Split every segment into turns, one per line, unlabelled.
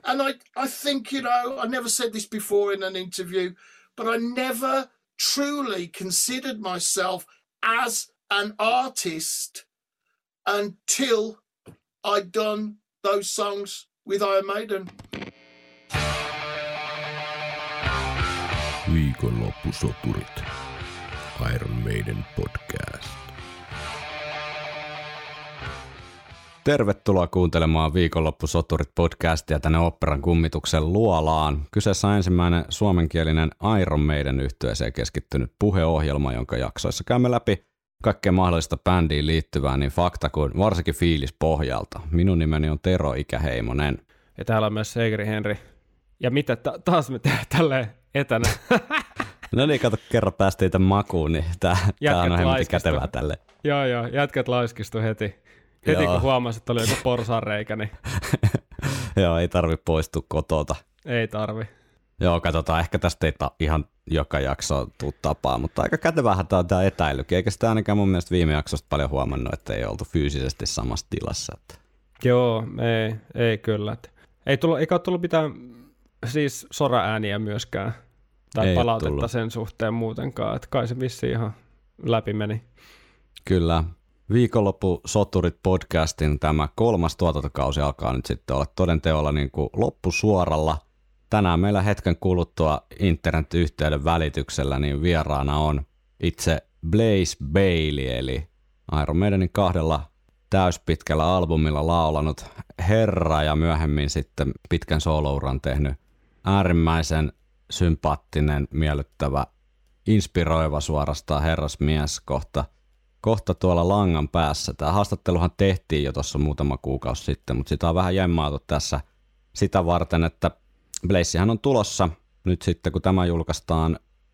And I think, you know, I never said this before in an interview, but I never truly considered myself as an artist until I'd done those songs with Iron Maiden.
Viikonloppusoturit. Iron Maiden podcast. Tervetuloa kuuntelemaan Viikonloppusoturit podcastia tänne Oopperan kummituksen luolaan. Kyseessä on ensimmäinen suomenkielinen Iron Maiden -yhtyeeseen keskittynyt puheohjelma, jonka jaksoissa käymme läpi kaikkea mahdollista bändiin liittyvää niin fakta kuin varsinkin fiilispohjalta. Minun nimeni on Tero Ikäheimonen.
Ja täällä on myös Seikeri Henri. Ja mitä taas me tehdään tälleen etänä?
No niin, kato, kerran päästiin tämän makuun, niin tää on hemmetin kätevää tälle.
Joo, jätkät laiskistu heti kun huomasi, että oli joku porsaanreikä. Niin...
Joo, ei tarvi poistua kotota.
Ei tarvi.
Joo, katsotaan, ehkä tästä ei ihan joka jakso tuu tapaa, mutta aika kätevähän tämä etäilykin, eikä sitä ainakaan mun mielestä viime jaksosta paljon huomannut, että ei oltu fyysisesti samassa tilassa.
Joo, ei kyllä. Eikä ole tullut mitään siis soraääniä myöskään, tai ei palautetta sen suhteen muutenkaan, että kai se vissiin ihan läpi meni.
Kyllä. Viikonloppusoturit podcastin tämä 3. tuotantokausi alkaa nyt sitten olla todenteolla niin kuin loppusuoralla. Tänään meillä hetken kuluttua internet-yhteyden välityksellä niin vieraana on itse Blaze Bayley, eli Iron Maidenin 2 täyspitkällä albumilla laulanut herra ja myöhemmin sitten pitkän soolouran tehnyt äärimmäisen sympaattinen, miellyttävä, inspiroiva suorastaan herrasmies kohta tuolla langan päässä. Tämä haastatteluhan tehtiin jo tuossa muutama kuukausi sitten, mutta sitä on vähän jämmaatu tässä sitä varten, että Blazehän on tulossa nyt sitten, kun tämä julkaistaan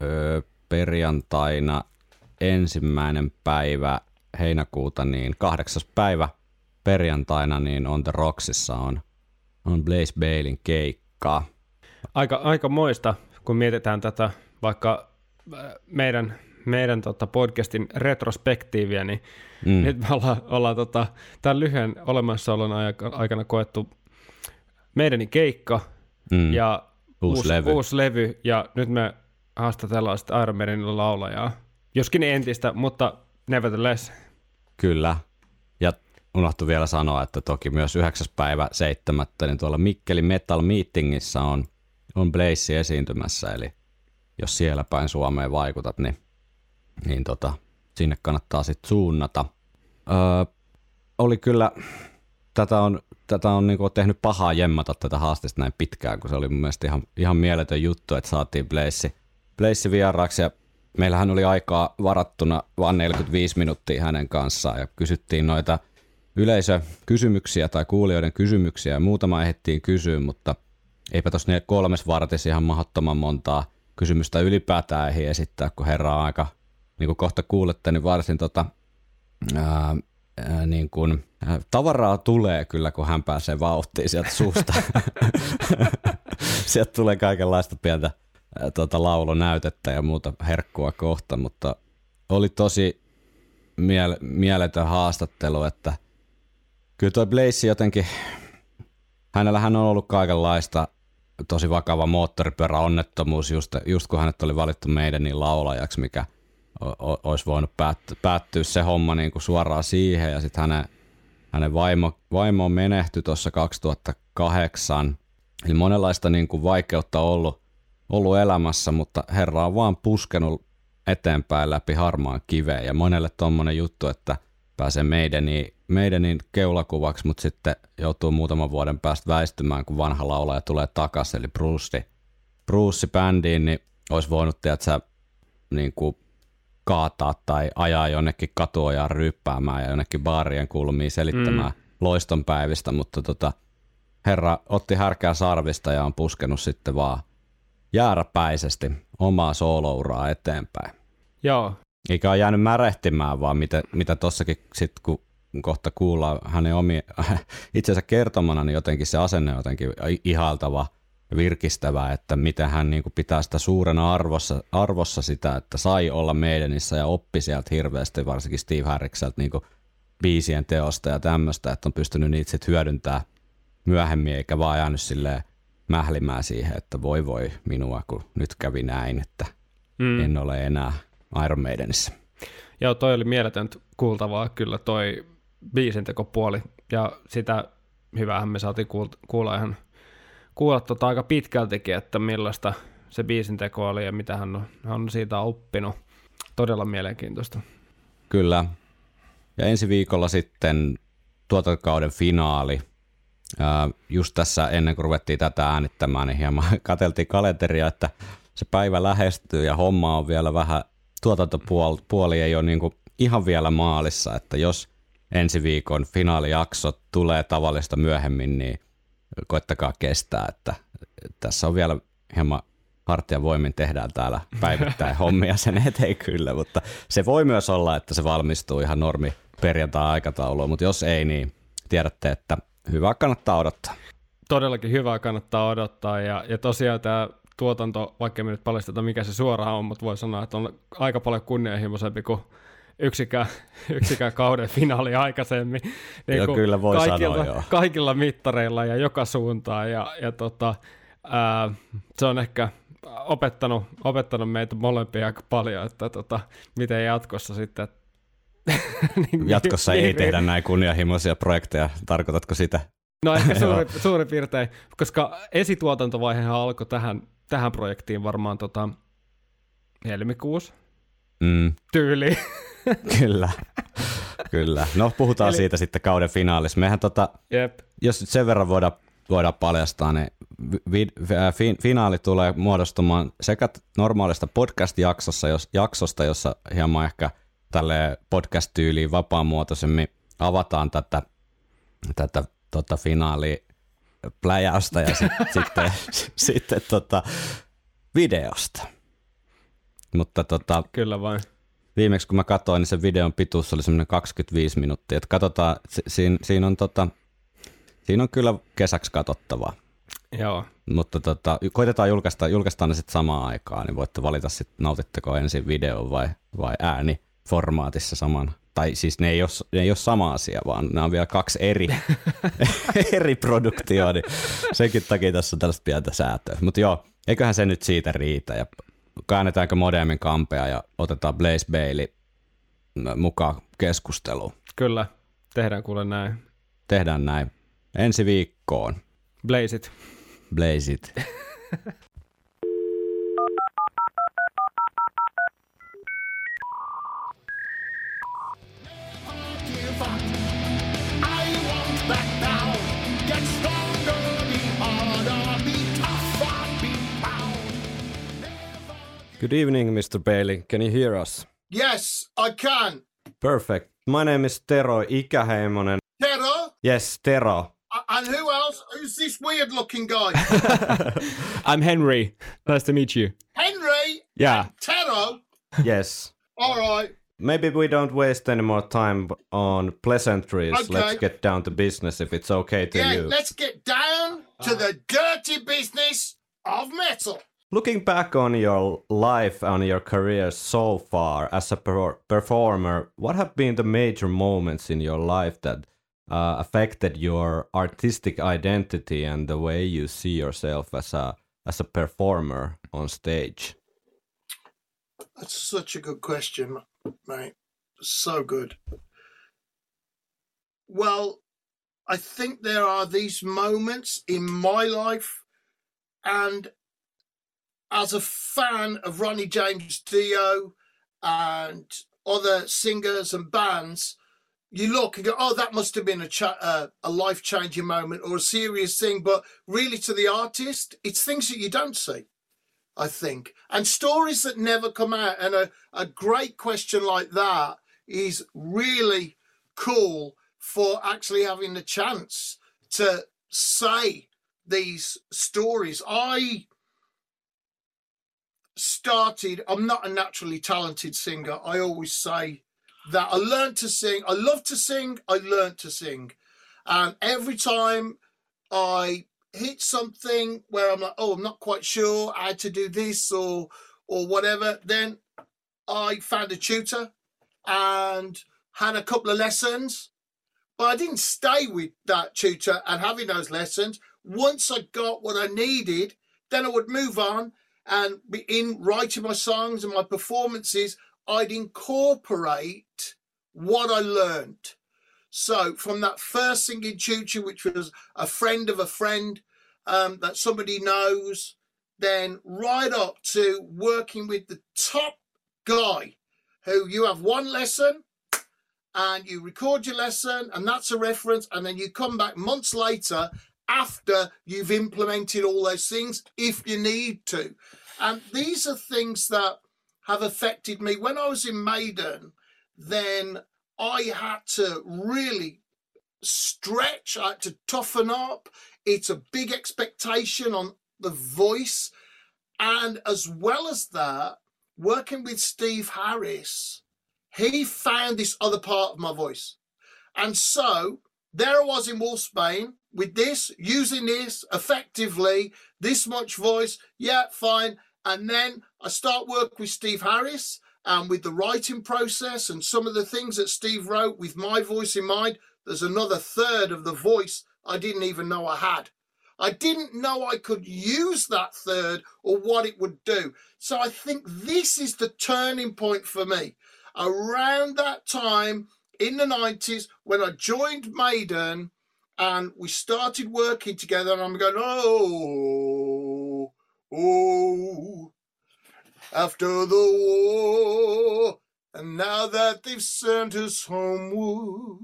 perjantaina 1. päivä heinäkuuta, niin 8. päivä perjantaina niin On The Rocksissa on Blaze Bayleyn keikkaa.
Aika moista, kun mietitään tätä vaikka meidän podcastin retrospektiiviä, niin nyt me ollaan tämän lyhyen olemassaolon aikana koettu meidänin keikka ja uusi levy, ja nyt me haastatellaan sitten Iron Maidenin laulajaa. Joskin entistä, mutta nevertheless.
Kyllä, ja unohtui vielä sanoa, että toki myös 9. päivä 7. niin tuolla Mikkelin Metal Meetingissä on Blaze esiintymässä, eli jos siellä päin Suomeen vaikutat, niin sinne kannattaa sitten suunnata. Oli kyllä, tätä on niinku tehnyt pahaa jemmata tätä haastista näin pitkään, kun se oli mun mielestä ihan mieletön juttu, että saatiin Blaze vieraaksi, ja meillähän oli aikaa varattuna vain 45 minuuttia hänen kanssaan, ja kysyttiin noita yleisökysymyksiä tai kuulijoiden kysymyksiä, ja muutama ehdittiin kysyä, mutta eipä tuossa 3 vartissa ihan mahdottoman montaa kysymystä ylipäätään ei esittää, kun herra on aika, niin kuin kohta kuulette, niin varsin niin kuin, tavaraa tulee kyllä, kun hän pääsee vauhtiin sieltä suusta. Sieltä tulee kaikenlaista pientä laulunäytettä ja muuta herkkua kohta, mutta oli tosi mieletön haastattelu, että kyllä toi Blaze jotenkin, hänellähän on ollut kaikenlaista, tosi vakava moottoripyöräonnettomuus, just kun hänet oli valittu Maidenin laulajaksi, mikä olisi voinut päättyä se homma niin kuin suoraan siihen, ja sitten hänen vaimo menehtyi tuossa 2008, eli monenlaista niin kuin vaikeutta ollut elämässä, mutta herra on vaan puskenut eteenpäin läpi harmaan kiveen, ja monelle tommonen juttu, että pääsee Maidenin keulakuvaksi, mutta sitten joutuu muutaman vuoden päästä väistymään, kun vanha laulaja tulee takaisin, eli Bruce bändiin, niin olisi voinut niin kuin kaataa tai ajaa jonnekin katuojaan ryyppäämään ja jonnekin baarien kulmiin selittämään loistonpäivistä, mutta herra otti härkää sarvista ja on puskenut sitten vaan jääräpäisesti omaa soolouraa eteenpäin.
Joo.
Eikä ole jäänyt märehtimään, vaan mitä tossakin sitten, kun kohta kuullaan hänen itsensä kertomana, niin jotenkin se asenne on jotenkin ihailtava ja virkistävä, että miten hän niin kuin pitää sitä suurena arvossa sitä, että sai olla Maidenissä ja oppi sieltä hirveästi, varsinkin Steve Harrikselta niin kuin biisien teosta ja tämmöistä, että on pystynyt niitä sitten hyödyntämään myöhemmin, eikä vaan jäänyt silleen mählimään siihen, että voi minua, kun nyt kävi näin, että en ole enää Iron Maidenissä.
Joo, toi oli mieletöntä kuultavaa kyllä toi biisintekopuoli, ja sitä hyvähän me saatiin kuulla aika pitkältikin, että millaista se biisinteko oli ja mitä hän on siitä oppinut. Todella mielenkiintoista.
Kyllä. Ja ensi viikolla sitten tuotantokauden finaali. Just tässä ennen kuin ruvettiin tätä äänittämään, niin hieman katseltiin kalenteria, että se päivä lähestyy ja homma on vielä vähän, tuotantopuoli ei ole niin kuin ihan vielä maalissa, että jos ensi viikon finaalijakso tulee tavallista myöhemmin, niin koittakaa kestää, että tässä on vielä hieman hartiavoimin tehdään täällä päivittäin hommia sen eteen kyllä, mutta se voi myös olla, että se valmistuu ihan normi perjantai-aikatauluun, mutta jos ei, niin tiedätte, että hyvää kannattaa odottaa.
Todellakin hyvää kannattaa odottaa, ja tosiaan tämä tuotanto, vaikka me nyt paljasteta mikä se suoraan on, mutta voi sanoa, että on aika paljon kunnianhimoisempi kuin yksikään kauden finaali aikaisemmin. Niin
joo, kyllä voi sanoa, joo.
Kaikilla mittareilla ja joka suuntaan, ja se on ehkä opettanut meitä molempia aika paljon, että miten jatkossa sitten.
Jatkossa ei tehdä näin kunnianhimoisia projekteja, tarkoitatko sitä?
No ehkä suurin piirtein, koska esituotantovaihehan alkoi tähän projektiin varmaan helmikuussa tyyliin. Kyllä. No puhutaan siitä sitten kauden finaalissa. Mehän jos sen verran voidaan paljastaa, niin finaali tulee muodostumaan sekä normaalista podcast-jaksosta, jossa hieman ehkä tälle podcast-tyyliin vapaamuotoisemmin avataan tätä finaalipläjäystä ja sitten videosta. Mutta kyllä vain.
Viimeksi kun mä katsoin, niin se videon pituus oli semmoinen 25 minuuttia. Että katsotaan, siinä on kyllä kesäksi katsottavaa.
Joo.
Mutta koitetaan julkaistaan ne sitten samaan aikaan, niin voitte valita sitten nautitteko ensin video vai ääniformaatissa saman. Tai siis ne ei ole sama asia, vaan nämä on vielä kaksi eri produktioa, niin senkin takia tässä on tällaista pientä säätöä. Mutta joo, eiköhän se nyt siitä riitä ja käännetäänkö modemin kampea ja otetaan Blaze Bailey mukaan keskusteluun.
Kyllä, tehdään kuule näin.
Tehdään näin. Ensi viikkoon.
Blaze it.
Blaze it. Good evening, Mr. Bailey. Can you hear us?
Yes, I can.
Perfect. My name is Tero Ikäheimonen.
Tero?
Yes, Tero.
And who else? Who's this weird-looking guy?
I'm Henry. Nice to meet you.
Henry?
Yeah.
Tero?
Yes.
All right.
Maybe we don't waste any more time on pleasantries.
Okay.
Let's get down to business if it's okay to you.
Let's get down to the dirty business of metal.
Looking back on your life and your career so far as a performer, what have been the major moments in your life that affected your artistic identity and the way you see yourself as a performer on stage?
That's such a good question, mate. So good. Well, I think there are these moments in my life, and as a fan of Ronnie James Dio and other singers and bands, you look and go, oh, that must have been a life-changing moment or a serious thing. But really, to the artist, it's things that you don't see, I think. And stories that never come out. And a great question like that is really cool for actually having the chance to say these stories. I'm not a naturally talented singer. I always say that. I learned to sing. I love to sing. I learned to sing. And every time I hit something where I'm like, oh, I'm not quite sure how to do this or whatever, then I found a tutor and had a couple of lessons. But I didn't stay with that tutor and having those lessons. once I got what I needed, then I would move on, and in writing my songs and my performances, I'd incorporate what I learned. So from that first singing tutor, which was a friend of a friend that somebody knows, then right up to working with the top guy who you have one lesson and you record your lesson and that's a reference, and then you come back months later after you've implemented all those things if you need to. And these are things that have affected me. When I was in Maiden, then I had to really stretch, I had to toughen up. It's a big expectation on the voice. And as well as that, working with Steve Harris, he found this other part of my voice. And so there I was in Wolfsbane with this, using this effectively, this much voice, yeah, fine. And then I start work with Steve Harris and with the writing process and some of the things that Steve wrote with my voice in mind. There's another third of the voice I didn't even know I had. I didn't know I could use that third or what it would do. So I think this is the turning point for me. Around that time in the 90s when I joined Maiden and we started working together, and I'm going, oh, after the war, and now that they've sent us homeward.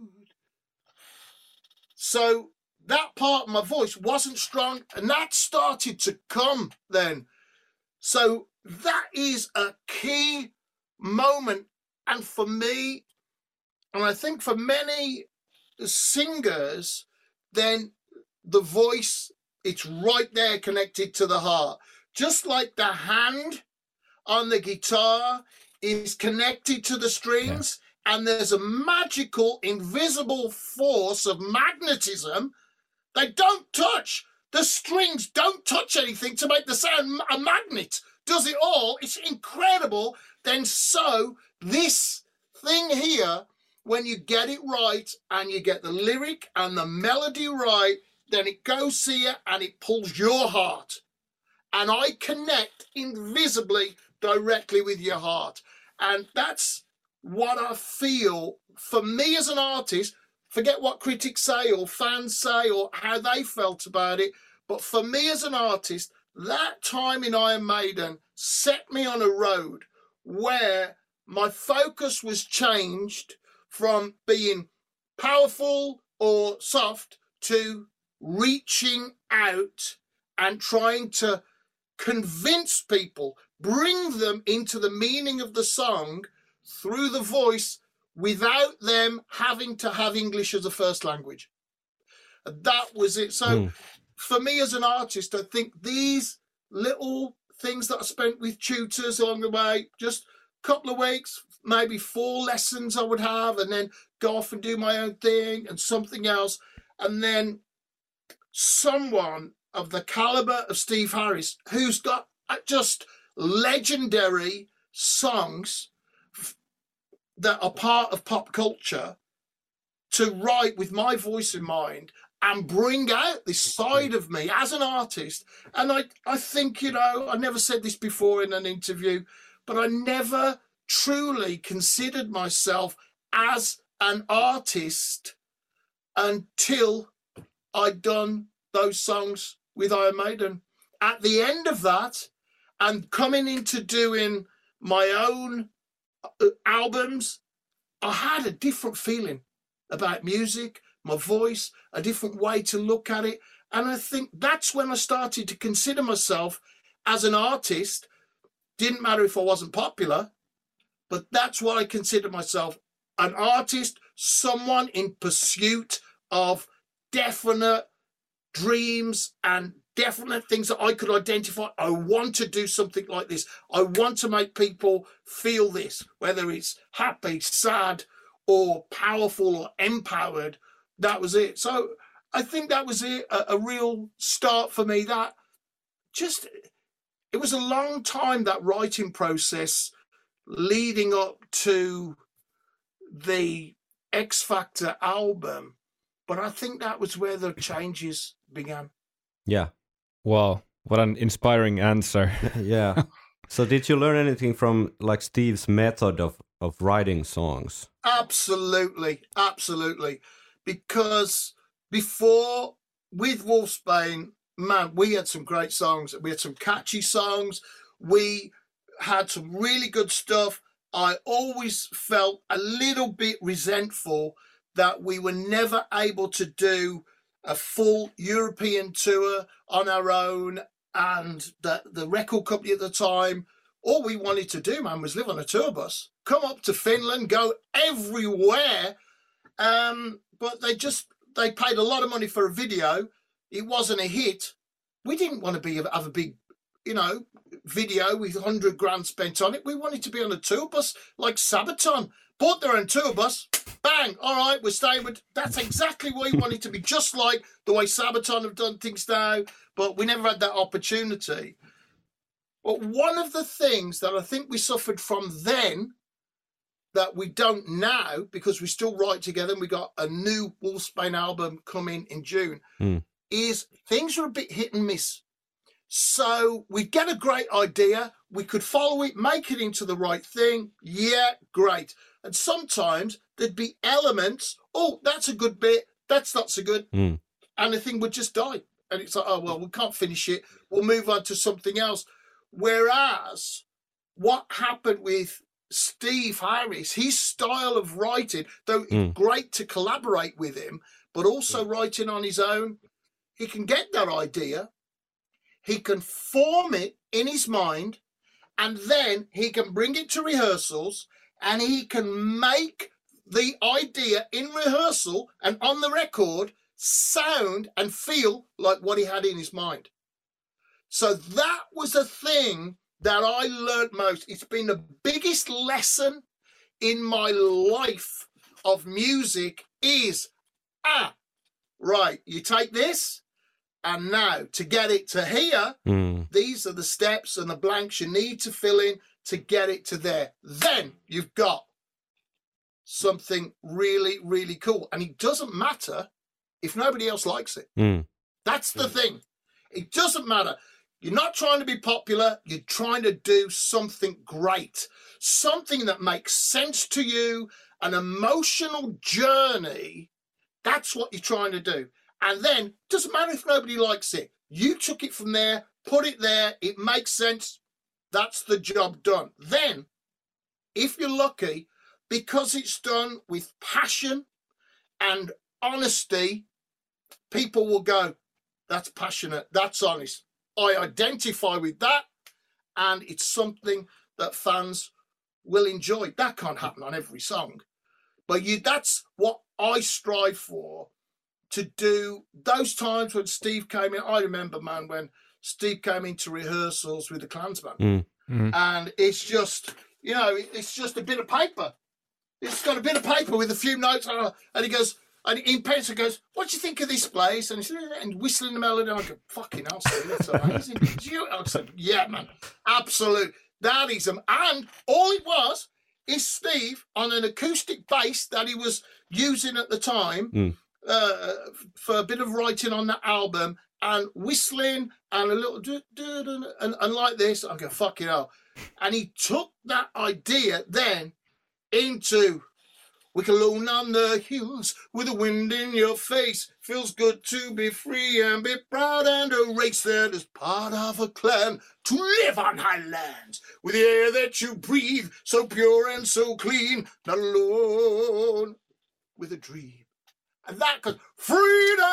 So that part of my voice wasn't strong, and that started to come then. So that is a key moment. And for me, and I think for many singers, then the voice, it's right there connected to the heart. Just like the hand on the guitar is connected to the strings, and there's a magical, invisible force of magnetism. They don't touch. The strings don't touch anything to make the sound. A magnet does it all. It's incredible. Then so this thing here, when you get it right and you get the lyric and the melody right, then it goes here and it pulls your heart. And I connect invisibly directly with your heart. And that's what I feel for me as an artist. Forget what critics say or fans say or how they felt about it. But for me as an artist, that time in Iron Maiden set me on a road where my focus was changed from being powerful or soft to reaching out and trying to convince people, bring them into the meaning of the song through the voice without them having to have English as a first language. That was it. So for me as an artist, I think these little things that I spent with tutors along the way, just a couple of weeks, maybe 4 lessons I would have, and then go off and do my own thing and something else. And then someone of the caliber of Steve Harris, who's got just legendary songs that are part of pop culture, to write with my voice in mind and bring out this side of me as an artist. And I think, I never said this before in an interview, but I never truly considered myself as an artist until I'd done those songs with Iron Maiden. At the end of that, and coming into doing my own albums, I had a different feeling about music, my voice, a different way to look at it. And I think that's when I started to consider myself as an artist. Didn't matter if I wasn't popular, but that's what I consider myself, an artist, someone in pursuit of definite dreams and definite things that I could identify. I want to do something like this. I want to make people feel this, whether it's happy, sad, or powerful or empowered. That was it. So I think that was it, a real start for me. That just, it was a long time, that writing process leading up to the X Factor album. But I think that was where the changes began.
Yeah.
Wow, what an inspiring answer.
Yeah. So did you learn anything from like Steve's method of writing songs?
Absolutely. Because before, with Wolfsbane, man, we had some great songs. We had some catchy songs. We had some really good stuff. I always felt a little bit resentful that we were never able to do a full European tour on our own, and the record company at the time, all we wanted to do, man, was live on a tour bus, come up to Finland, go everywhere. But they paid a lot of money for a video. It wasn't a hit. We didn't want to have a big, video with 100 grand spent on it. We wanted to be on a tour bus like Sabaton. Bought their own tour bus. Bang. All right, we're staying with. That's exactly what we wanted to be, just like the way Sabaton have done things now. But we never had that opportunity. But one of the things that I think we suffered from then that we don't now, because we still write together and we got a new Wolfsbane album coming in June, is things are a bit hit and miss. So we get a great idea, we could follow it, make it into the right thing. Yeah, great. And sometimes there'd be elements, oh, that's a good bit, that's not so good. And the thing would just die. And it's like, oh, well, we can't finish it. We'll move on to something else. Whereas what happened with Steve Harris, his style of writing, though it's great to collaborate with him, but also writing on his own, he can get that idea, he can form it in his mind, and then he can bring it to rehearsals, and he can make the idea in rehearsal and on the record sound and feel like what he had in his mind. So that was a thing that I learned most. It's been the biggest lesson in my life of music is, right, you take this, and now to get it to here, these are the steps and the blanks you need to fill in to get it to there. Then you've got something really, really cool. And it doesn't matter if nobody else likes it. That's the thing. It doesn't matter. You're not trying to be popular. You're trying to do something great, something that makes sense to you, an emotional journey. That's what you're trying to do. And then it doesn't matter if nobody likes it. You took it from there, put it there. It makes sense. That's the job done. Then, if you're lucky, because it's done with passion and honesty, people will go, that's passionate, that's honest. I identify with that, and it's something that fans will enjoy. That can't happen on every song, but that's what I strive for, to do. Those times when Steve came in, I remember, man, when Steve came into rehearsals with the Klansman, and it's just, it's just a bit of paper. It's got a bit of paper with a few notes, and he goes, and in pencil goes, what do you think of this place? And he said, and whistling the melody. And I go, fucking hell, Steve, that's amazing. I said, yeah, man, absolute. That is and all it was is Steve on an acoustic bass that he was using at the time for a bit of writing on that album, and whistling and a little and like this. I go, fucking hell. And he took that idea then into, we can alone on the hills with the wind in your face. Feels good to be free and be proud and a race that is part of a clan. To live on high lands with the air that you breathe, so pure and so clean. Not alone with a dream. And that goes, freedom!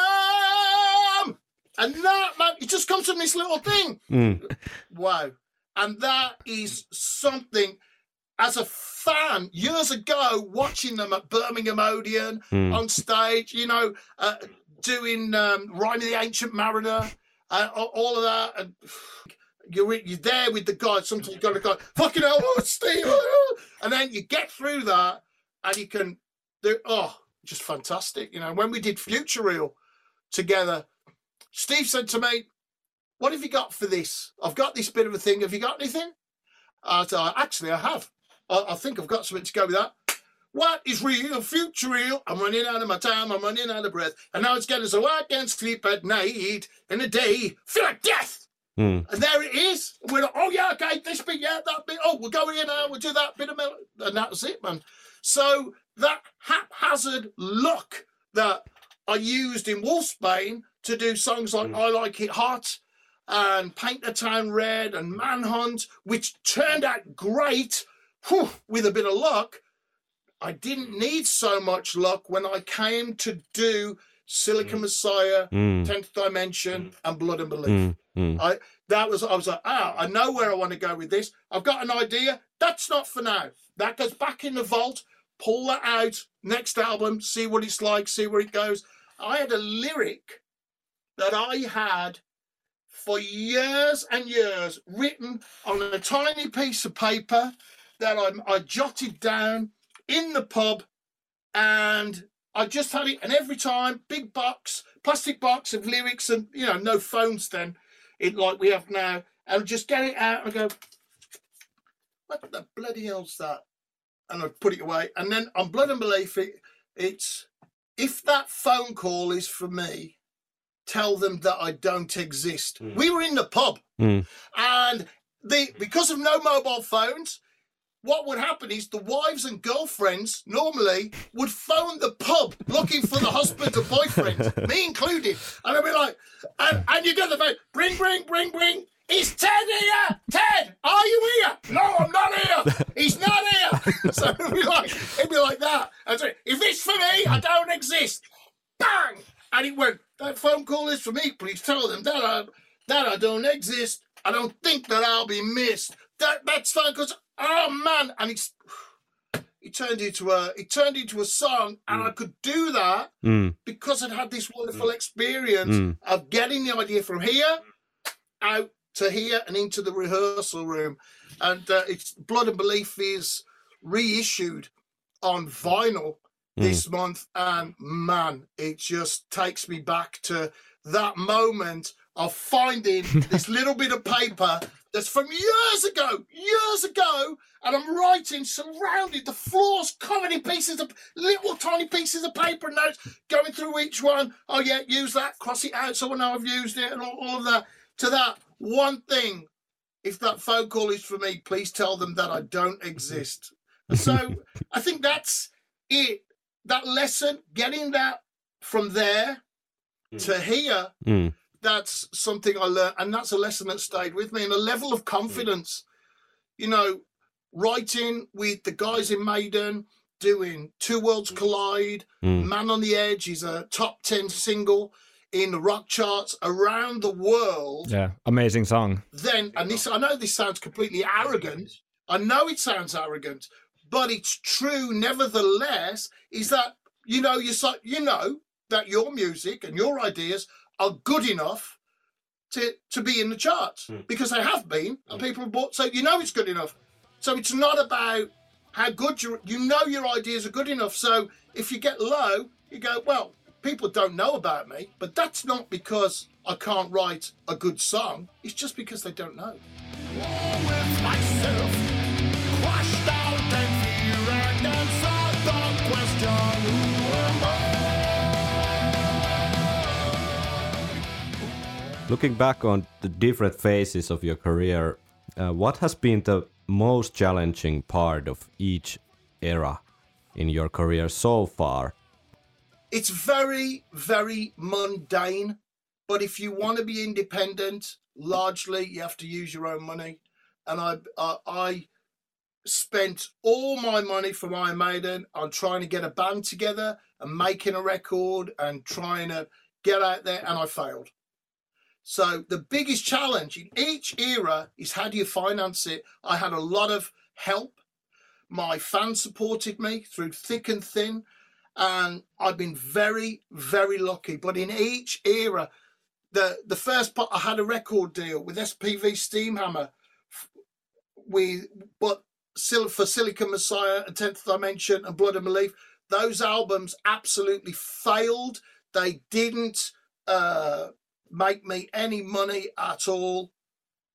And that, man, it just comes from this little thing. Wow. And that is something, as a fan, years ago, watching them at Birmingham Odeon on stage, doing Rhyme of the Ancient Mariner, all of that, and you're there with the guy. Sometimes you've got to go, fucking hell, Steve, and then you get through that, and you can do, just fantastic. When we did Future Real together, Steve said to me, what have you got for this? I've got this bit of a thing. Have you got anything? I said, actually, I have. I think I've got something to go with that. What is real? Future real? I'm running out of my time. I'm running out of breath. And now it's getting so I can't sleep at night. In the day, feel like death. And there it is. We're like, oh, yeah, okay, this bit, yeah, that bit. Oh, we'll go here now. We'll do that bit of melody. And that was it, man. So that haphazard look that I used in Wolfsbane to do songs like I Like It Hot and Paint the Town Red and Manhunt, which turned out great with a bit of luck. I didn't need so much luck when I came to do Silicon Messiah, 10th Dimension, and Blood and Belief. I was like, I know where I want to go with this. I've got an idea. That's not for now. That goes back in the vault. Pull that out. Next album, see what it's like, see where it goes. I had a lyric that I had for years and years written on a tiny piece of paper that I jotted down in the pub, and I just had it. And every time, big box, plastic box of lyrics, and no phones then, like we have now, and just get it out and go, what the bloody hell's that? And I'd put it away. And then on Blood and Belief, it's, if that phone call is for me, tell them that I don't exist. We were in the pub, and because of no mobile phones, what would happen is the wives and girlfriends normally would phone the pub looking for the husbands and boyfriends, me included. And I'd be like, and you get the phone, bring. Is Ted here? Ted, are you here? No, I'm not here. He's not here. So it'd be like that. And so, if it's for me, I don't exist. Bang! And it went, that phone call is for me. Please tell them that I don't exist. I don't think that I'll be missed. That's fine, because, oh man, and it turned into a song, and I could do that because I'd had this wonderful experience of getting the idea from here out to here and into the rehearsal room. And it's Blood and Belief is reissued on vinyl this month, and man, it just takes me back to that moment of finding this little bit of paper that's from years ago, and I'm writing, surrounded, the floor's covered in pieces of, little tiny pieces of paper and notes, going through each one. Oh yeah, use that, cross it out so I know I've used it, and all of that. To that one thing, if that phone call is for me, please tell them that I don't exist. So I think that's it. That lesson, getting that from there to here, that's something I learned, and that's a lesson that stayed with me, and a level of confidence. Writing with the guys in Maiden, doing Two Worlds Collide, Man on the Edge is a top 10 single in the rock charts around the world.
Yeah, amazing song.
Then, and this, I know this sounds completely arrogant. I know it sounds arrogant, but it's true nevertheless, is that, that your music and your ideas are good enough to be in the charts, because they have been, and people have bought, so it's good enough. So it's not about how good your ideas are good enough. So if you get low, you go, well, people don't know about me, but that's not because I can't write a good song. It's just because they don't know. With myself, crashed out and fear and answered the question, who am
I? Looking back on the different phases of your career, what has been the most challenging part of each era in your career so far?
It's very, very mundane, but if you want to be independent, largely you have to use your own money. And I spent all my money from Iron Maiden on trying to get a band together and making a record and trying to get out there, and I failed. So the biggest challenge in each era is, how do you finance it? I had a lot of help. My fans supported me through thick and thin, and I've been very, very lucky. But in each era, the first part, I had a record deal with SPV Steamhammer, for Silicon Messiah and 10th Dimension and Blood and Belief. Those albums absolutely failed. They didn't make me any money at all.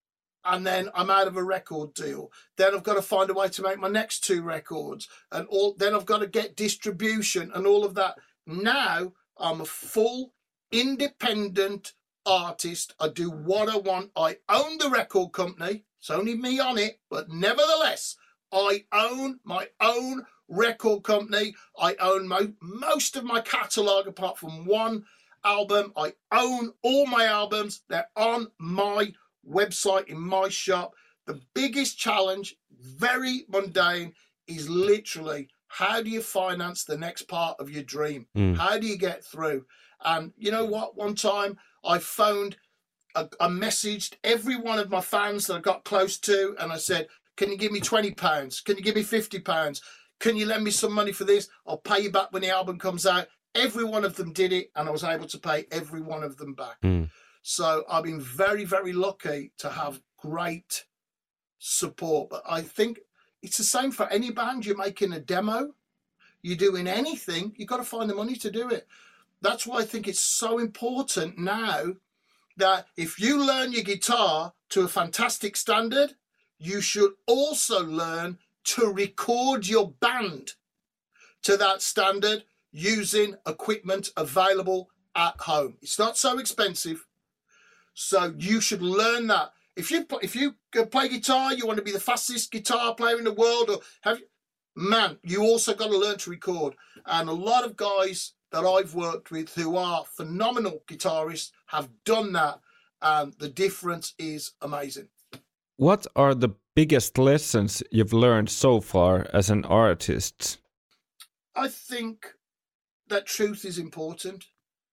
and then I'm out of a record deal. Then I've got to find a way to make my next 2 records, and then I've got to get distribution and all of that. Now I'm a full independent artist. I do what I want. I own the record company. It's only me on it, but nevertheless, I own my own record company. I own most of my catalogue apart from one album. I own all my albums. They're on my website, in my shop. The biggest challenge, very mundane, is literally how do you finance the next part of your dream? How do you get through? And you know what? One time I phoned, I messaged every one of my fans that I got close to, and I said, can you give me £20? Can you give me £50? Can you lend me some money for this? I'll pay you back when the album comes out. Every one of them did it, and I was able to pay every one of them back. So I've been very, very lucky to have great support. But I think it's the same for any band. You're making a demo, you're doing anything, you've got to find the money to do it. That's why I think it's so important now that if you learn your guitar to a fantastic standard, you should also learn to record your band to that standard using equipment available at home. It's not so expensive. So you should learn that. If you play guitar, you want to be the fastest guitar player in the world, or you also got to learn to record. And a lot of guys that I've worked with who are phenomenal guitarists have done that, and the difference is amazing.
What are the biggest lessons you've learned so far as an artist?
I think that truth is important.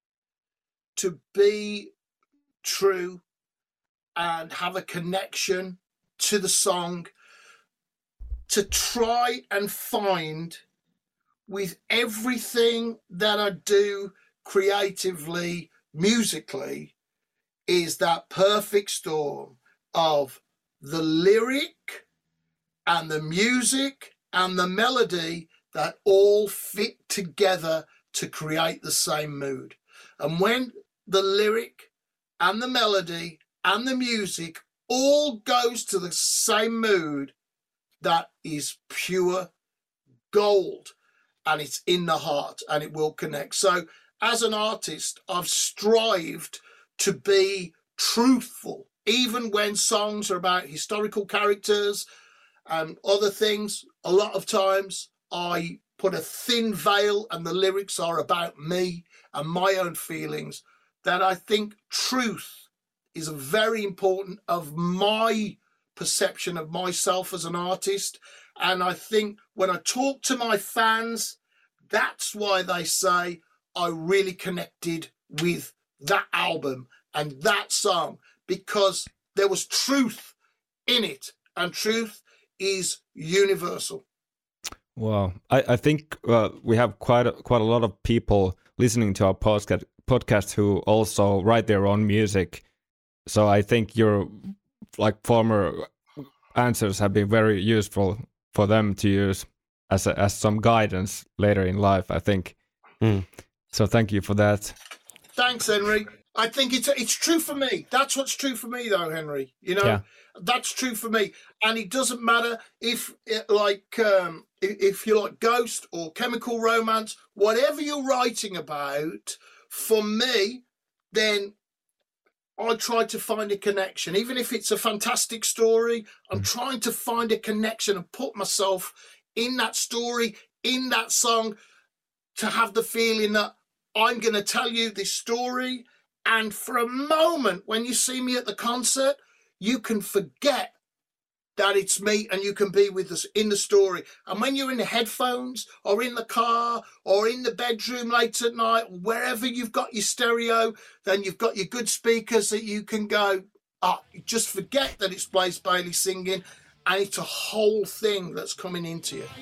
To be true and have a connection to the song, to try and find with everything that I do creatively, musically, is that perfect storm of the lyric and the music and the melody that all fit together to create the same mood. And when the lyric and the melody and the music all goes to the same mood, that is pure gold, and it's in the heart, and it will connect. So as an artist, I've strived to be truthful, even when songs are about historical characters and other things. A lot of times I put a thin veil and the lyrics are about me and my own feelings. That I think truth is very important of my perception of myself as an artist. And I think when I talk to my fans, that's why they say I really connected with that album and that song, because there was truth in it, and truth is universal.
Wow. I think we have quite a lot of people listening to our podcast who also write their own music. So I think your former answers have been very useful for them to use as some guidance later in life, I think. So thank you for that.
Thanks, Henry. I think it's true for me. That's what's true for me, though, Henry. You know, That's true for me. And it doesn't matter if you like Ghost or Chemical Romance, whatever you're writing about, for me, then I try to find a connection. Even if it's a fantastic story, I'm trying to find a connection and put myself in that story, in that song, to have the feeling that I'm going to tell you this story. And for a moment, when you see me at the concert, you can forget that it's me and you can be with us in the story. And when you're in the headphones or in the car or in the bedroom late at night, wherever you've got your stereo, then you've got your good speakers that you can go, just forget that it's Blaze Bayley singing, and it's a whole thing that's coming into you.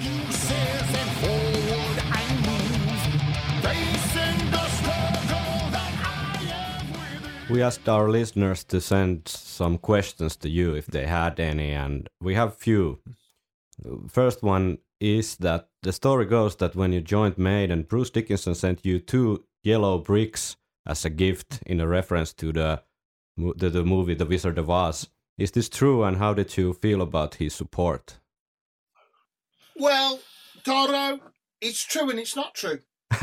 We asked our listeners to send some questions to you if they had any, and we have few. First one is that the story goes that when you joined Maiden, Bruce Dickinson sent you 2 yellow bricks as a gift in a reference to the movie The Wizard of Oz. Is this true, and how did you feel about his support?
Well, Doro, it's true and it's not true.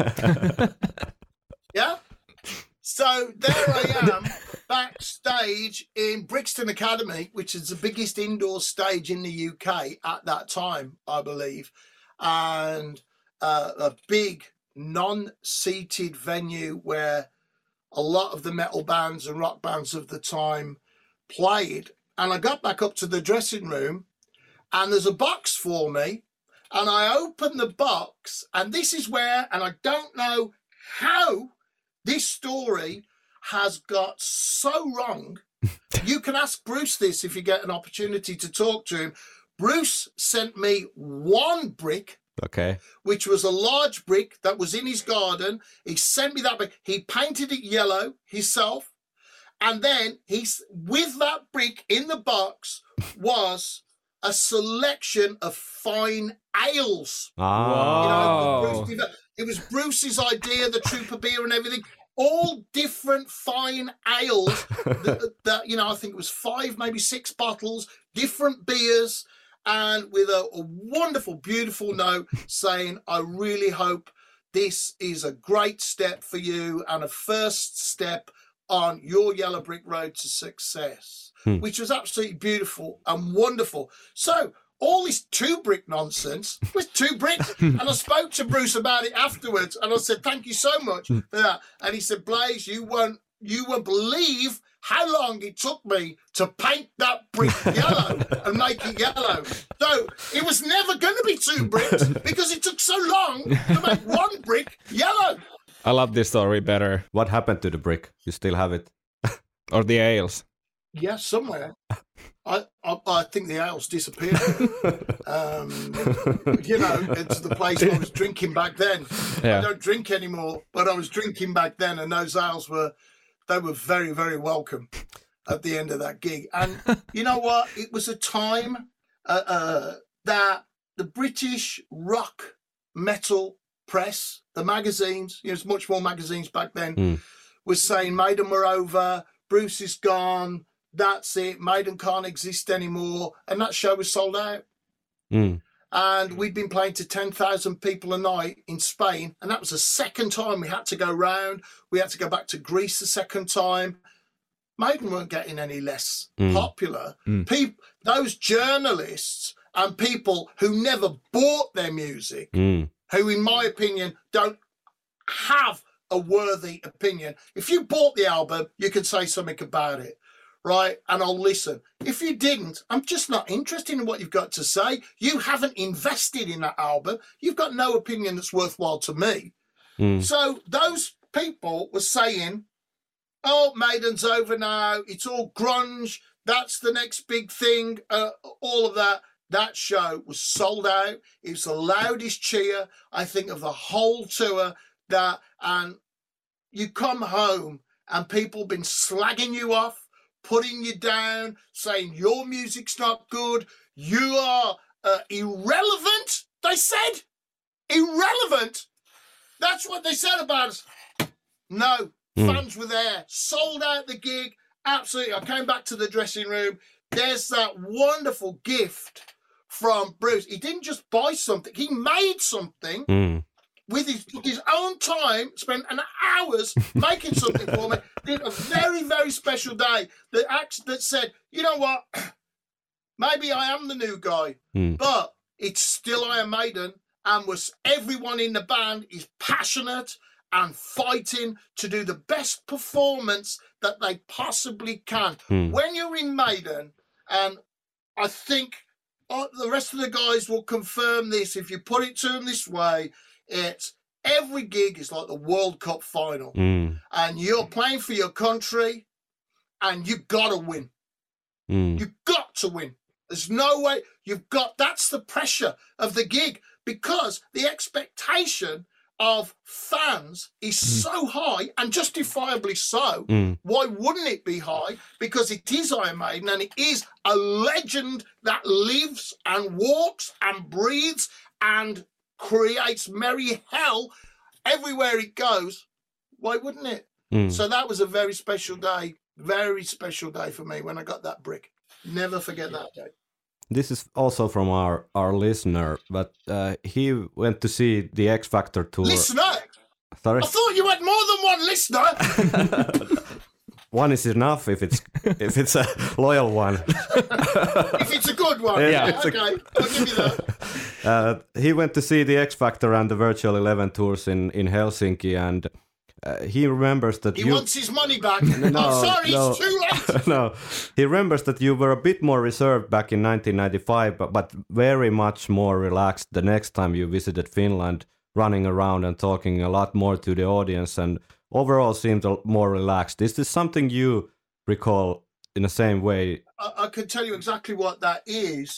Yeah? So there I am, backstage in Brixton Academy, which is the biggest indoor stage in the UK at that time, I believe, and a big non-seated venue where a lot of the metal bands and rock bands of the time played. And I got back up to the dressing room, and there's a box for me, and I open the box, and this is where, and I don't know how this story has got so wrong. You can ask Bruce this if you get an opportunity to talk to him. Bruce sent me one brick,
Okay.
which was a large brick that was in his garden. He sent me that brick. He painted it yellow himself. And then with that brick in the box was a selection of fine ales.
Ah.
It was Bruce's idea, the Trooper beer and everything. All different fine ales that I think it was 5, maybe 6 bottles, different beers, and with a wonderful, beautiful note saying, I really hope this is a great step for you and a first step on your Yellow Brick Road to success, which was absolutely beautiful and wonderful. So all this 2 brick nonsense was 2 bricks. And I spoke to Bruce about it afterwards, and I said, thank you so much for that. And he said, Blaze, you won't believe how long it took me to paint that brick yellow and make it yellow. So it was never going to be 2 bricks because it took so long to make 1 brick yellow.
I love this story better.
What happened to the brick? You still have it?
Or the ales.
Yeah, somewhere. I think the ales disappeared. It's the place I was drinking back then.
Yeah.
I don't drink anymore, but I was drinking back then, and those ales were very, very welcome at the end of that gig. And you know what? It was a time that the British rock metal press, the magazines, there's much more magazines back then, was saying Maiden were over, Bruce is gone, that's it, Maiden can't exist anymore. And that show was sold out. And we'd been playing to 10,000 people a night in Spain. And that was the second time we had to go round. We had to go back to Greece the second time. Maiden weren't getting any less popular. Those journalists and people who never bought their music, who, in my opinion, don't have a worthy opinion. If you bought the album, you can say something about it, right? And I'll listen. If you didn't, I'm just not interested in what you've got to say. You haven't invested in that album. You've got no opinion that's worthwhile to me. So those people were saying, oh, Maiden's over now. It's all grunge. That's the next big thing. All of that. That show was sold out. It was the loudest cheer, I think, of the whole tour. And you come home and people been slagging you off, putting you down, saying your music's not good. You are irrelevant. They said irrelevant. That's what they said about us. No, fans were there, sold out the gig. Absolutely. I came back to the dressing room. There's that wonderful gift from Bruce. He didn't just buy something. He made something with his own time, spent an hours making something for me. Did a very, very special day that said, you know what? Maybe I am the new guy, but it's still Iron Maiden, and everyone in the band is passionate and fighting to do the best performance that they possibly can. When you're in Maiden, and I think the rest of the guys will confirm this, if you put it to them this way, it's every gig is like the World Cup final. And you're playing for your country, and you've got to win. You've got to win. There's no way. That's the pressure of the gig, because the expectation of fans is so high, and justifiably so. Why wouldn't it be high? Because it is Iron Maiden, and it is a legend that lives and walks and breathes and creates merry hell everywhere it goes. Why wouldn't it? So that was a very special day Very special day for me when I got that brick. Never forget that day.
This is also from our listener, but he went to see the X Factor tour.
Listener?
Sorry?
I thought you had more than one listener.
One is enough if it's a loyal one.
If it's a good one.
Yeah.
Okay, I'll give you that.
He went to see the X Factor and the Virtual 11 tours in Helsinki, and he remembers that
He wants his money back. I'm sorry, it's too late.
No, he remembers that you were a bit more reserved back in 1995, but very much more relaxed the next time you visited Finland, running around and talking a lot more to the audience, and overall seemed more relaxed. Is this something you recall in the same way?
I can tell you exactly what that is.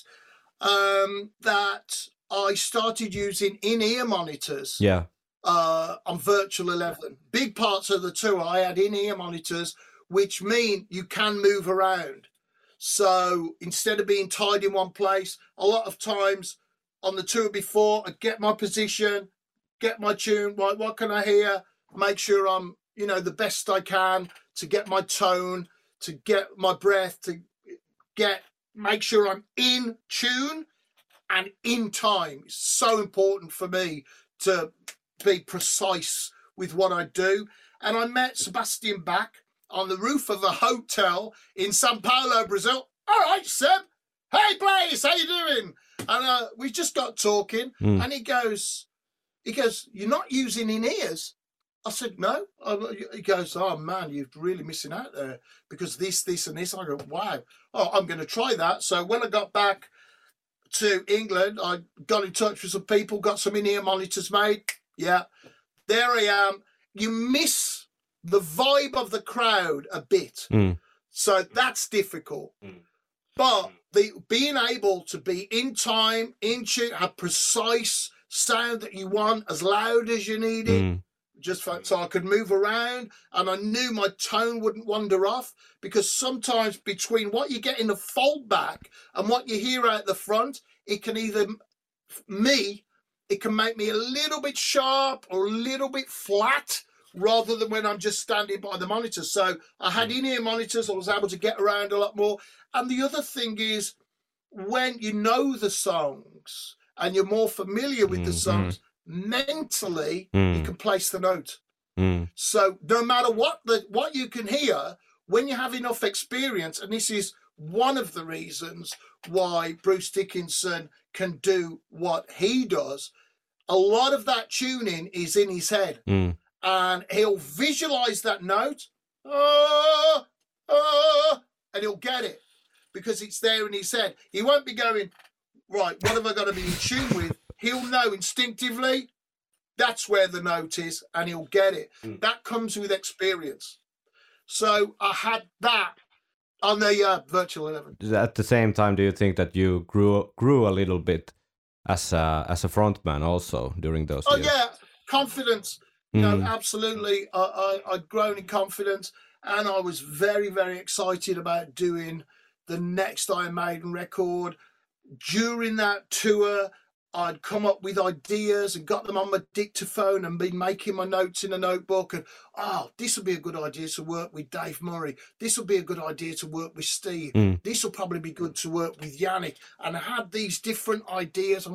That I started using in-ear monitors.
Yeah.
On Virtual 11. Big parts of the tour, I had in-ear monitors, which mean you can move around. So instead of being tied in one place, a lot of times on the tour before, I get my position, get my tune, right, what can I hear? Make sure I'm, the best I can to get my tone, to get my breath, to make sure I'm in tune and in time. It's so important for me to be precise with what I do. And I met Sebastian Bach on the roof of a hotel in Sao Paulo, Brazil. All right, Seb. Hey, Blaze, how you doing? And we just got talking, and he goes, you're not using in-ears? I said, no. He goes, oh, man, you're really missing out there because this, and this. I go, wow. Oh, I'm going to try that. So when I got back to England, I got in touch with some people, got some in-ear monitors made. Yeah, there I am. You miss the vibe of the crowd a bit. So that's difficult. But being able to be in time, in tune, have precise sound that you want, as loud as you need it, so I could move around, and I knew my tone wouldn't wander off, because sometimes between what you get in the fold back and what you hear out the front, it can make me a little bit sharp or a little bit flat, rather than when I'm just standing by the monitor. So I had in-ear monitors, I was able to get around a lot more. And the other thing is, when you know the songs and you're more familiar with the songs, mentally you can place the note. So no matter what you can hear, when you have enough experience, and this is one of the reasons why Bruce Dickinson can do what he does, a lot of that tuning is in his head, and he'll visualize that note, and he'll get it because it's there in his head. He won't be going, right, what have I got to be in tune with? He'll know instinctively that's where the note is, and he'll get it. That comes with experience. So I had that on the Virtual 11.
At the same time, do you think that you grew a little bit as a frontman also during those years?
Yeah, confidence. No, absolutely. I'd grown in confidence, and I was very, very excited about doing the next Iron Maiden record. During that tour, I'd come up with ideas and got them on my dictaphone and been making my notes in a notebook. And, this would be a good idea to work with Dave Murray. This would be a good idea to work with Steve. This will probably be good to work with Yannick. And I had these different ideas.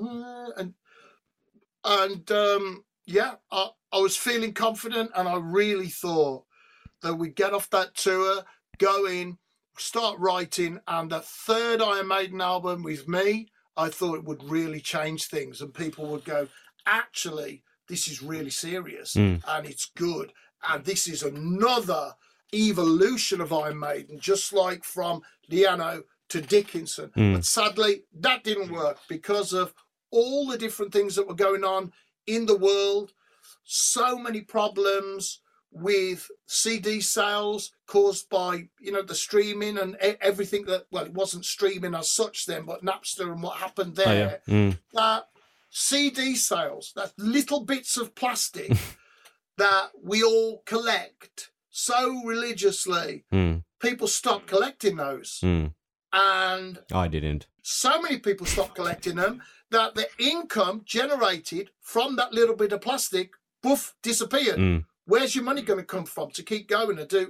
I was feeling confident, and I really thought that we'd get off that tour, go in, start writing, and the third Iron Maiden album with me, I thought it would really change things, and people would go, actually, this is really serious, and it's good, and this is another evolution of Iron Maiden, just like from Liano to Dickinson. But sadly, that didn't work because of all the different things that were going on in the world. So many problems with CD sales caused by, the streaming and everything that, well, it wasn't streaming as such then, but Napster and what happened there. That CD sales, that little bits of plastic that we all collect so religiously, people stopped collecting those. And
I didn't.
So many people stopped collecting them that the income generated from that little bit of plastic, poof, disappeared. Where's your money going to come from to keep going and do?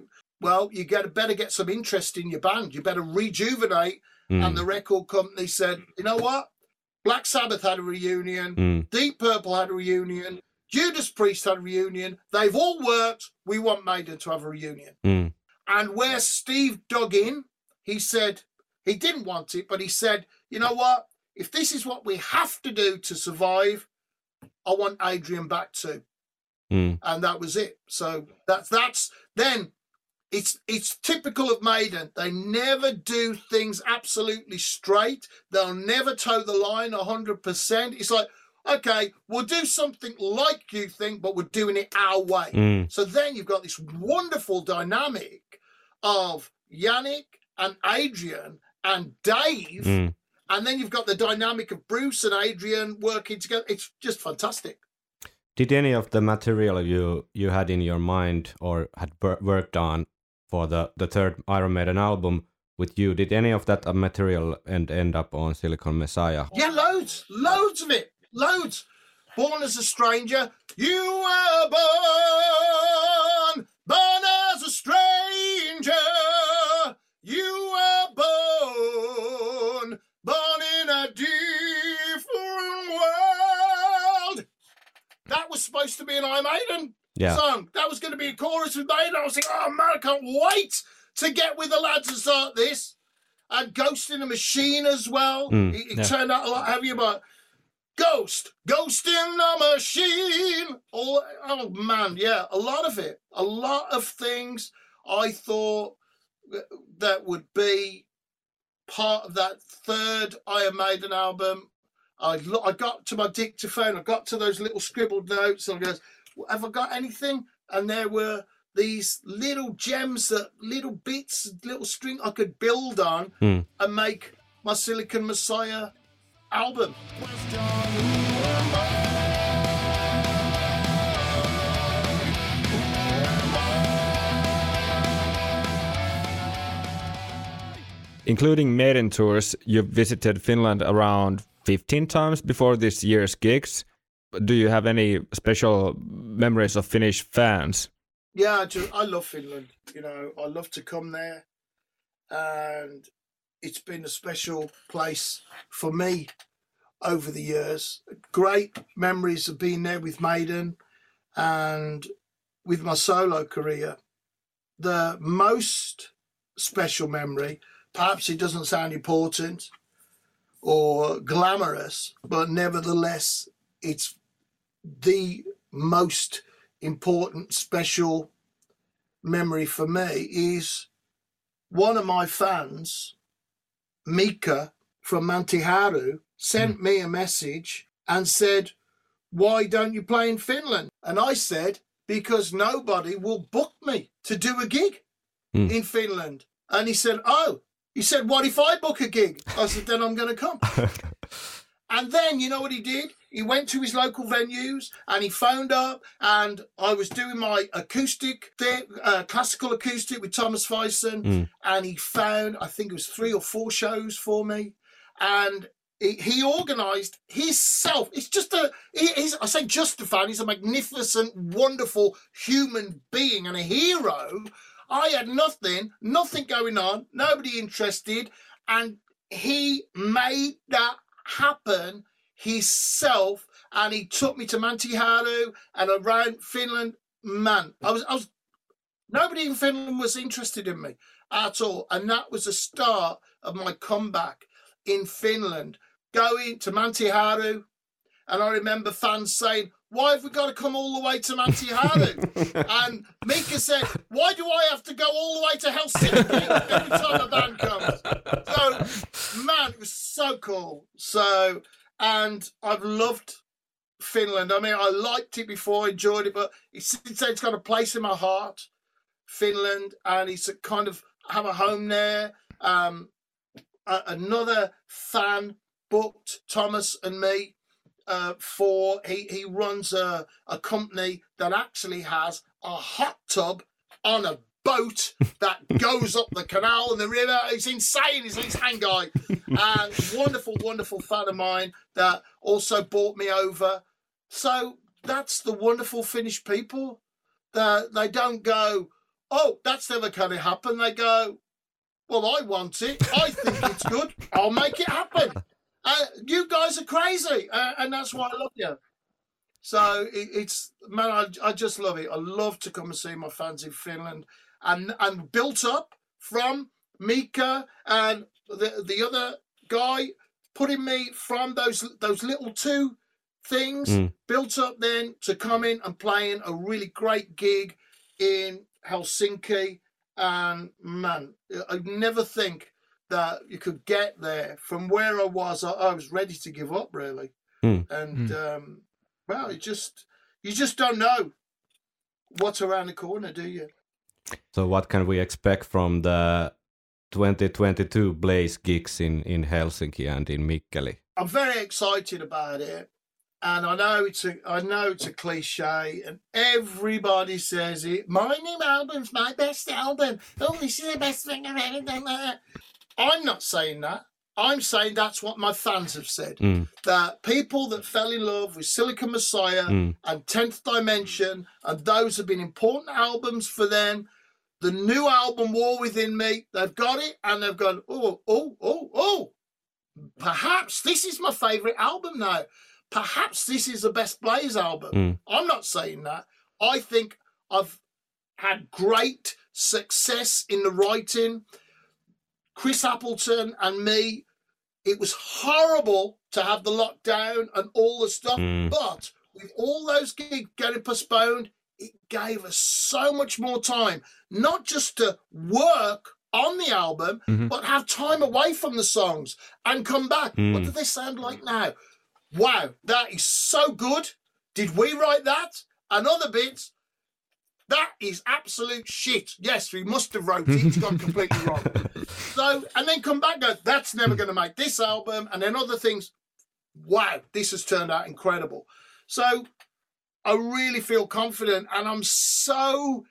well, you better get some interest in your band. You better rejuvenate. And the record company said, you know what? Black Sabbath had a reunion. Deep Purple had a reunion. Judas Priest had a reunion. They've all worked. We want Maiden to have a reunion. And where Steve dug in, he said, he didn't want it, but he said, you know what? If this is what we have to do to survive, I want Adrian back too. And that was it. So that's then it's typical of Maiden. They never do things absolutely straight. They'll never toe the line 100%. It's like, okay, we'll do something like you think, but we're doing it our way. So then you've got this wonderful dynamic of Yannick and Adrian and Dave. And then you've got the dynamic of Bruce and Adrian working together. It's just fantastic.
Did any of the material you had in your mind or had worked on for the third Iron Maiden album with you, did any of that material end up on Silicon Messiah?
Yeah, loads of it. Loads. Born as a Stranger. You were born as a stranger. You were born in a different world. That was supposed to be an Iron Maiden song. That was going to be a chorus with Maiden. I was like, oh man, I can't wait to get with the lads and start this. And Ghost in the Machine as well. It turned out a lot heavier, but Ghost in the Machine. Oh man, yeah, a lot of it. A lot of things I thought that would be part of that third Iron Maiden album. I got to my dictaphone, I got to those little scribbled notes, and I goes, have I got anything? And there were these little gems, little bits, little string I could build on and make my Silicon Messiah album.
Including Maiden tours, you've visited Finland around 15 times before this year's gigs. Do you have any special memories of Finnish fans?
Yeah, I love Finland. You know, I love to come there, and it's been a special place for me over the years. Great memories of being there with Maiden and with my solo career. The most special memory, perhaps it doesn't sound important or glamorous, but nevertheless, it's the most important special memory for me, is one of my fans, Mika from Mäntyharju, sent me a message and said, why don't you play in Finland? And I said, because nobody will book me to do a gig in Finland. And he said, what if I book a gig? I said, then I'm going to come. And then, you know what he did? He went to his local venues and he phoned up, and I was doing my acoustic, classical acoustic with Thomas Fyson, and he found, I think it was 3 or 4 shows for me. And he organised himself. It's just I say just a fan, he's a magnificent, wonderful human being and a hero. I had nothing going on, nobody interested, and he made that happen himself, and he took me to Mäntyharju and around Finland. Man, I was nobody in Finland was interested in me at all, and that was the start of my comeback in Finland, going to Mäntyharju. And I remember fans saying, why have we got to come all the way to Mäntyharju? And Mika said, why do I have to go all the way to Helsinki every time a band comes? So, man, it was so cool. So, and I've loved Finland. I mean, I liked it before, enjoyed it, but it's got a place in my heart, Finland, and it's a kind of have a home there. Another fan booked Thomas and me for he runs a company that actually has a hot tub on a boat that goes up the canal and the river. It's insane. He's this hang guy, and wonderful fan of mine that also brought me over. So that's the wonderful Finnish people. That they don't go, oh, that's never going to happen. They go, well, I want it. I think it's good. I'll make it happen. You guys are crazy. And that's why I love you. So it's, man, I just love it. I love to come and see my fans in Finland, and built up from Mika and the other guy putting me from those little two things, built up then to come in and playing a really great gig in Helsinki. And man, I never think that you could get there from where I was. I was ready to give up, really. And well, you just don't know what's around the corner, do you?
So what can we expect from the 2022 Blaze gigs in Helsinki and in Mikkeli?
I'm very excited about it, and I know it's a cliche, and everybody says it. My new album's my best album. Oh, this is the best thing I've ever done. I'm not saying that. I'm saying that's what my fans have said. That people that fell in love with Silicon Messiah and 10th Dimension, and those have been important albums for them. The new album, War Within Me, they've got it and they've gone, oh. Perhaps this is my favourite album now. Perhaps this is the best Blaze album. I'm not saying that. I think I've had great success in the writing. Chris Appleton and me, it was horrible to have the lockdown and all the stuff, but with all those gigs getting postponed, it gave us so much more time, not just to work on the album, but have time away from the songs and come back. What do they sound like now? Wow, that is so good. Did we write that? And other bits, that is absolute shit. Yes, we must have wrote it. It's gone completely wrong. So, and then come back and go, that's never going to make this album. And then other things, wow, this has turned out incredible. So I really feel confident, and I'm so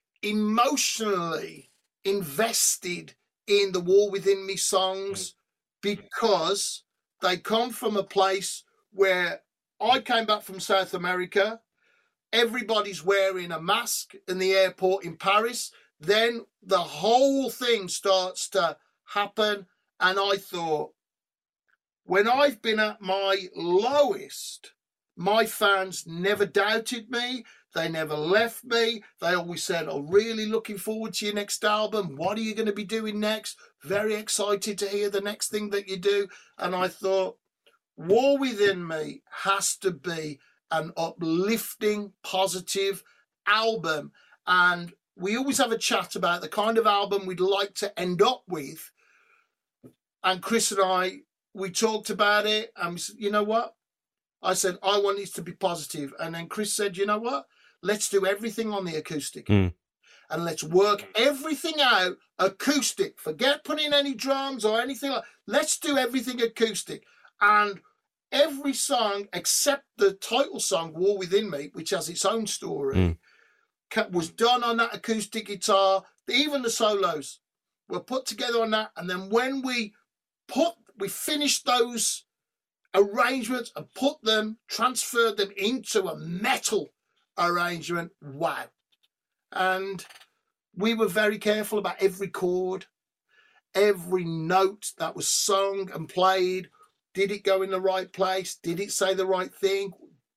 emotionally invested in the War Within Me songs because they come from a place where I came back from South America. Everybody's wearing a mask in the airport in Paris. Then the whole thing starts to happen. And I thought, when I've been at my lowest, my fans never doubted me. They never left me. They always said, I'm really looking forward to your next album. What are you going to be doing next? Very excited to hear the next thing that you do. And I thought, War Within Me has to be an uplifting, positive album. And we always have a chat about the kind of album we'd like to end up with. And Chris and I, we talked about it, and we said, you know what? I said, I want it to be positive. And then Chris said, you know what? Let's do everything on the acoustic. And let's work everything out acoustic. Forget putting any drums or anything like that. Let's do everything acoustic. And every song except the title song, War Within Me, which has its own story, was done on that acoustic guitar. Even the solos were put together on that. And then when we finished those arrangements and transferred them into a metal arrangement, wow. And we were very careful about every chord, every note that was sung and played. Did it go in the right place? Did it say the right thing?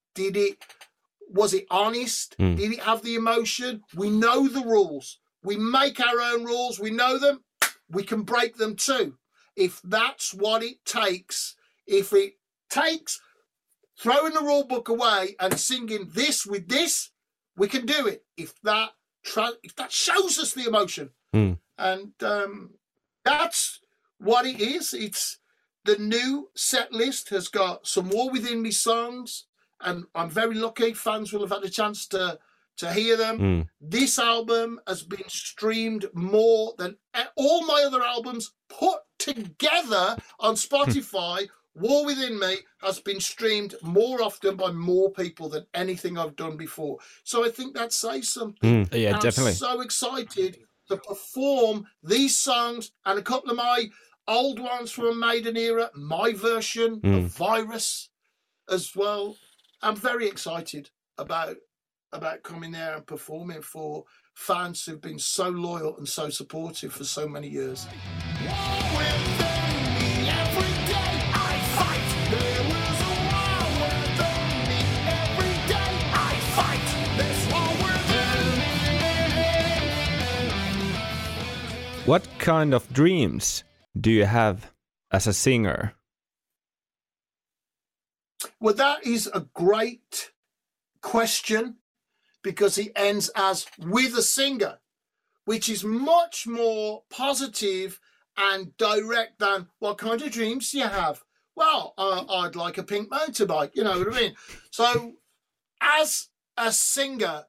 Was it honest? Did it have the emotion? We know the rules. We make our own rules. We know them. We can break them too. If that's what it takes, if it takes throwing the rule book away and singing this with this, we can do it. If that shows us the emotion. And that's what it is. It's the new set list has got some War Within Me songs, and I'm very lucky fans will have had a chance to hear them. This album has been streamed more than all my other albums put together on Spotify. War Within Me has been streamed more often by more people than anything I've done before. So I think that says something.
Yeah,
and
definitely.
I'm so excited to perform these songs and a couple of my old ones from a Maiden era, my version of Virus as well. I'm very excited about coming there and performing for fans who've been so loyal and so supportive for so many years.
What kind of dreams do you have as a singer?
Well, that is a great question, because he ends as with a singer, which is much more positive and direct than what kind of dreams do you have? Well, I'd like a pink motorbike, you know what I mean? So as a singer,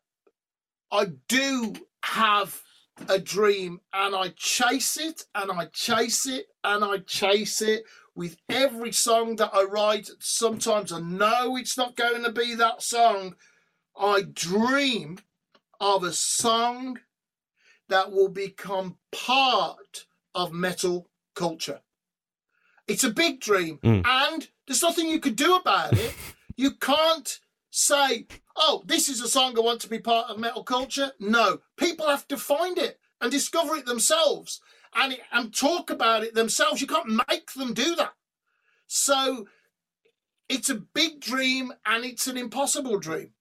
I do have a dream, and I chase it and I chase it and I chase it with every song that I write. Sometimes I know it's not going to be that song. I dream of a song that will become part of metal culture. It's a big dream, and there's nothing you can do about it. You can't say, oh, this is a song I want to be part of metal culture. No, people have to find it and discover it themselves and talk about it themselves. You can't make them do that. So it's a big dream, and it's an impossible dream.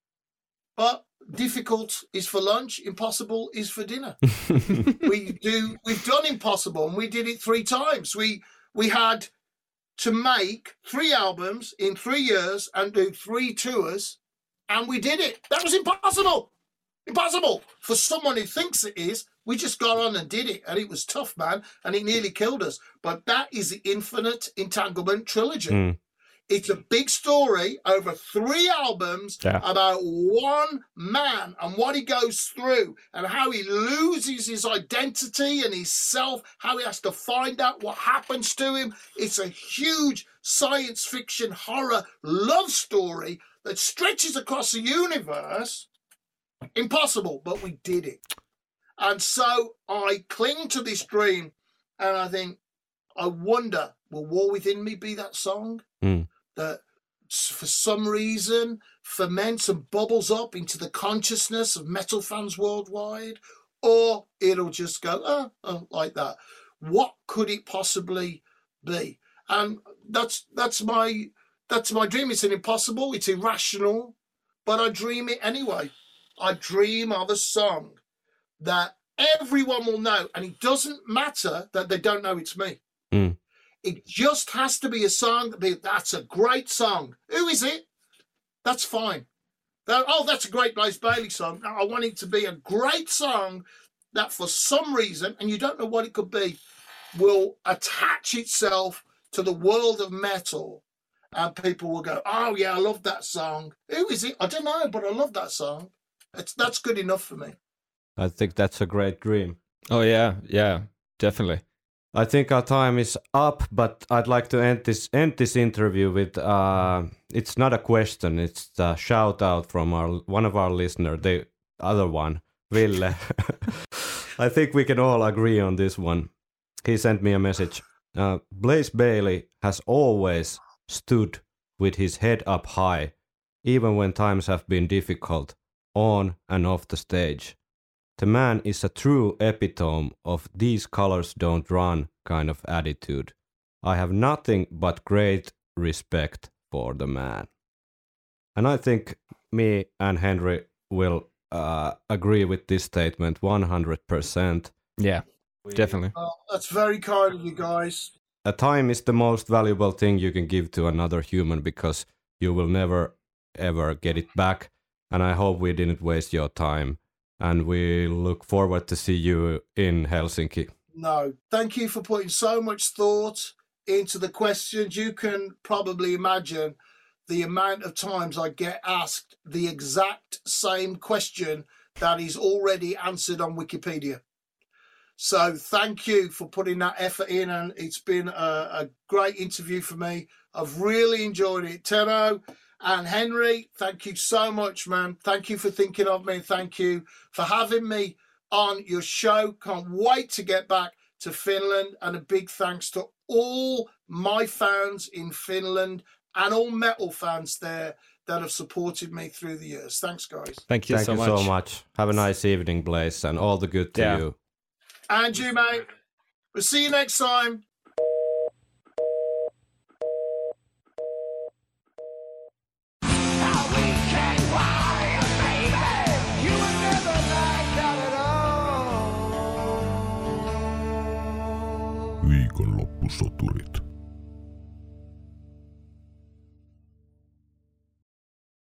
But difficult is for lunch, impossible is for dinner. We've done impossible, and we did it 3 times. We had to make 3 albums in 3 years and do 3 tours, and we did it. That was impossible. Impossible. For someone who thinks it is, we just got on and did it, and it was tough, man, and it nearly killed us. But that is the Infinite Entanglement trilogy. It's a big story over 3 albums about one man and what he goes through and how he loses his identity and his self, how he has to find out what happens to him. It's a huge science fiction horror love story that stretches across the universe. Impossible, but we did it. And so I cling to this dream, and I think, I wonder, will War Within Me be that song? That for some reason ferments and bubbles up into the consciousness of metal fans worldwide, or it'll just go like that. What could it possibly be? And that's my dream. It's an impossible, it's irrational, but I dream it anyway. I dream of a song that everyone will know, and it doesn't matter that they don't know it's me. It just has to be a song that's a great song. Who is it? That's fine. That's a great Blaze Bayley song. I want it to be a great song that for some reason, and you don't know what it could be, will attach itself to the world of metal, and people will go, oh yeah, I love that song. Who is it? I don't know, but I love that song. That's good enough for me.
I think that's a great dream.
Oh yeah, definitely.
I think our time is up, but I'd like to end this interview with it's not a question, it's a shout out from one of our listeners, the other one, Ville. I think we can all agree on this one. He sent me a message. Blaze Bayley has always stood with his head up high, even when times have been difficult, on and off the stage. The man is a true epitome of these colors don't run kind of attitude. I have nothing but great respect for the man. And I think me and Henry will agree with this statement 100%.
Yeah, definitely.
That's very kind of you guys.
A time is the most valuable thing you can give to another human, because you will never ever get it back. And I hope we didn't waste your time. And we look forward to see you in Helsinki.
No, thank you for putting so much thought into the questions. You can probably imagine the amount of times I get asked the exact same question that is already answered on Wikipedia. So thank you for putting that effort in, and it's been a great interview for me. I've really enjoyed it. Tero and Henry, thank you so much, man. Thank you for thinking of me. Thank you for having me on your show. Can't wait to get back to Finland. And a big thanks to all my fans in Finland and all metal fans there that have supported me through the years. Thanks, guys.
Thank you so much.
Have a nice evening, Blaze, and all the good to you.
And you, mate. We'll see you next time.
Viikonloppusoturit.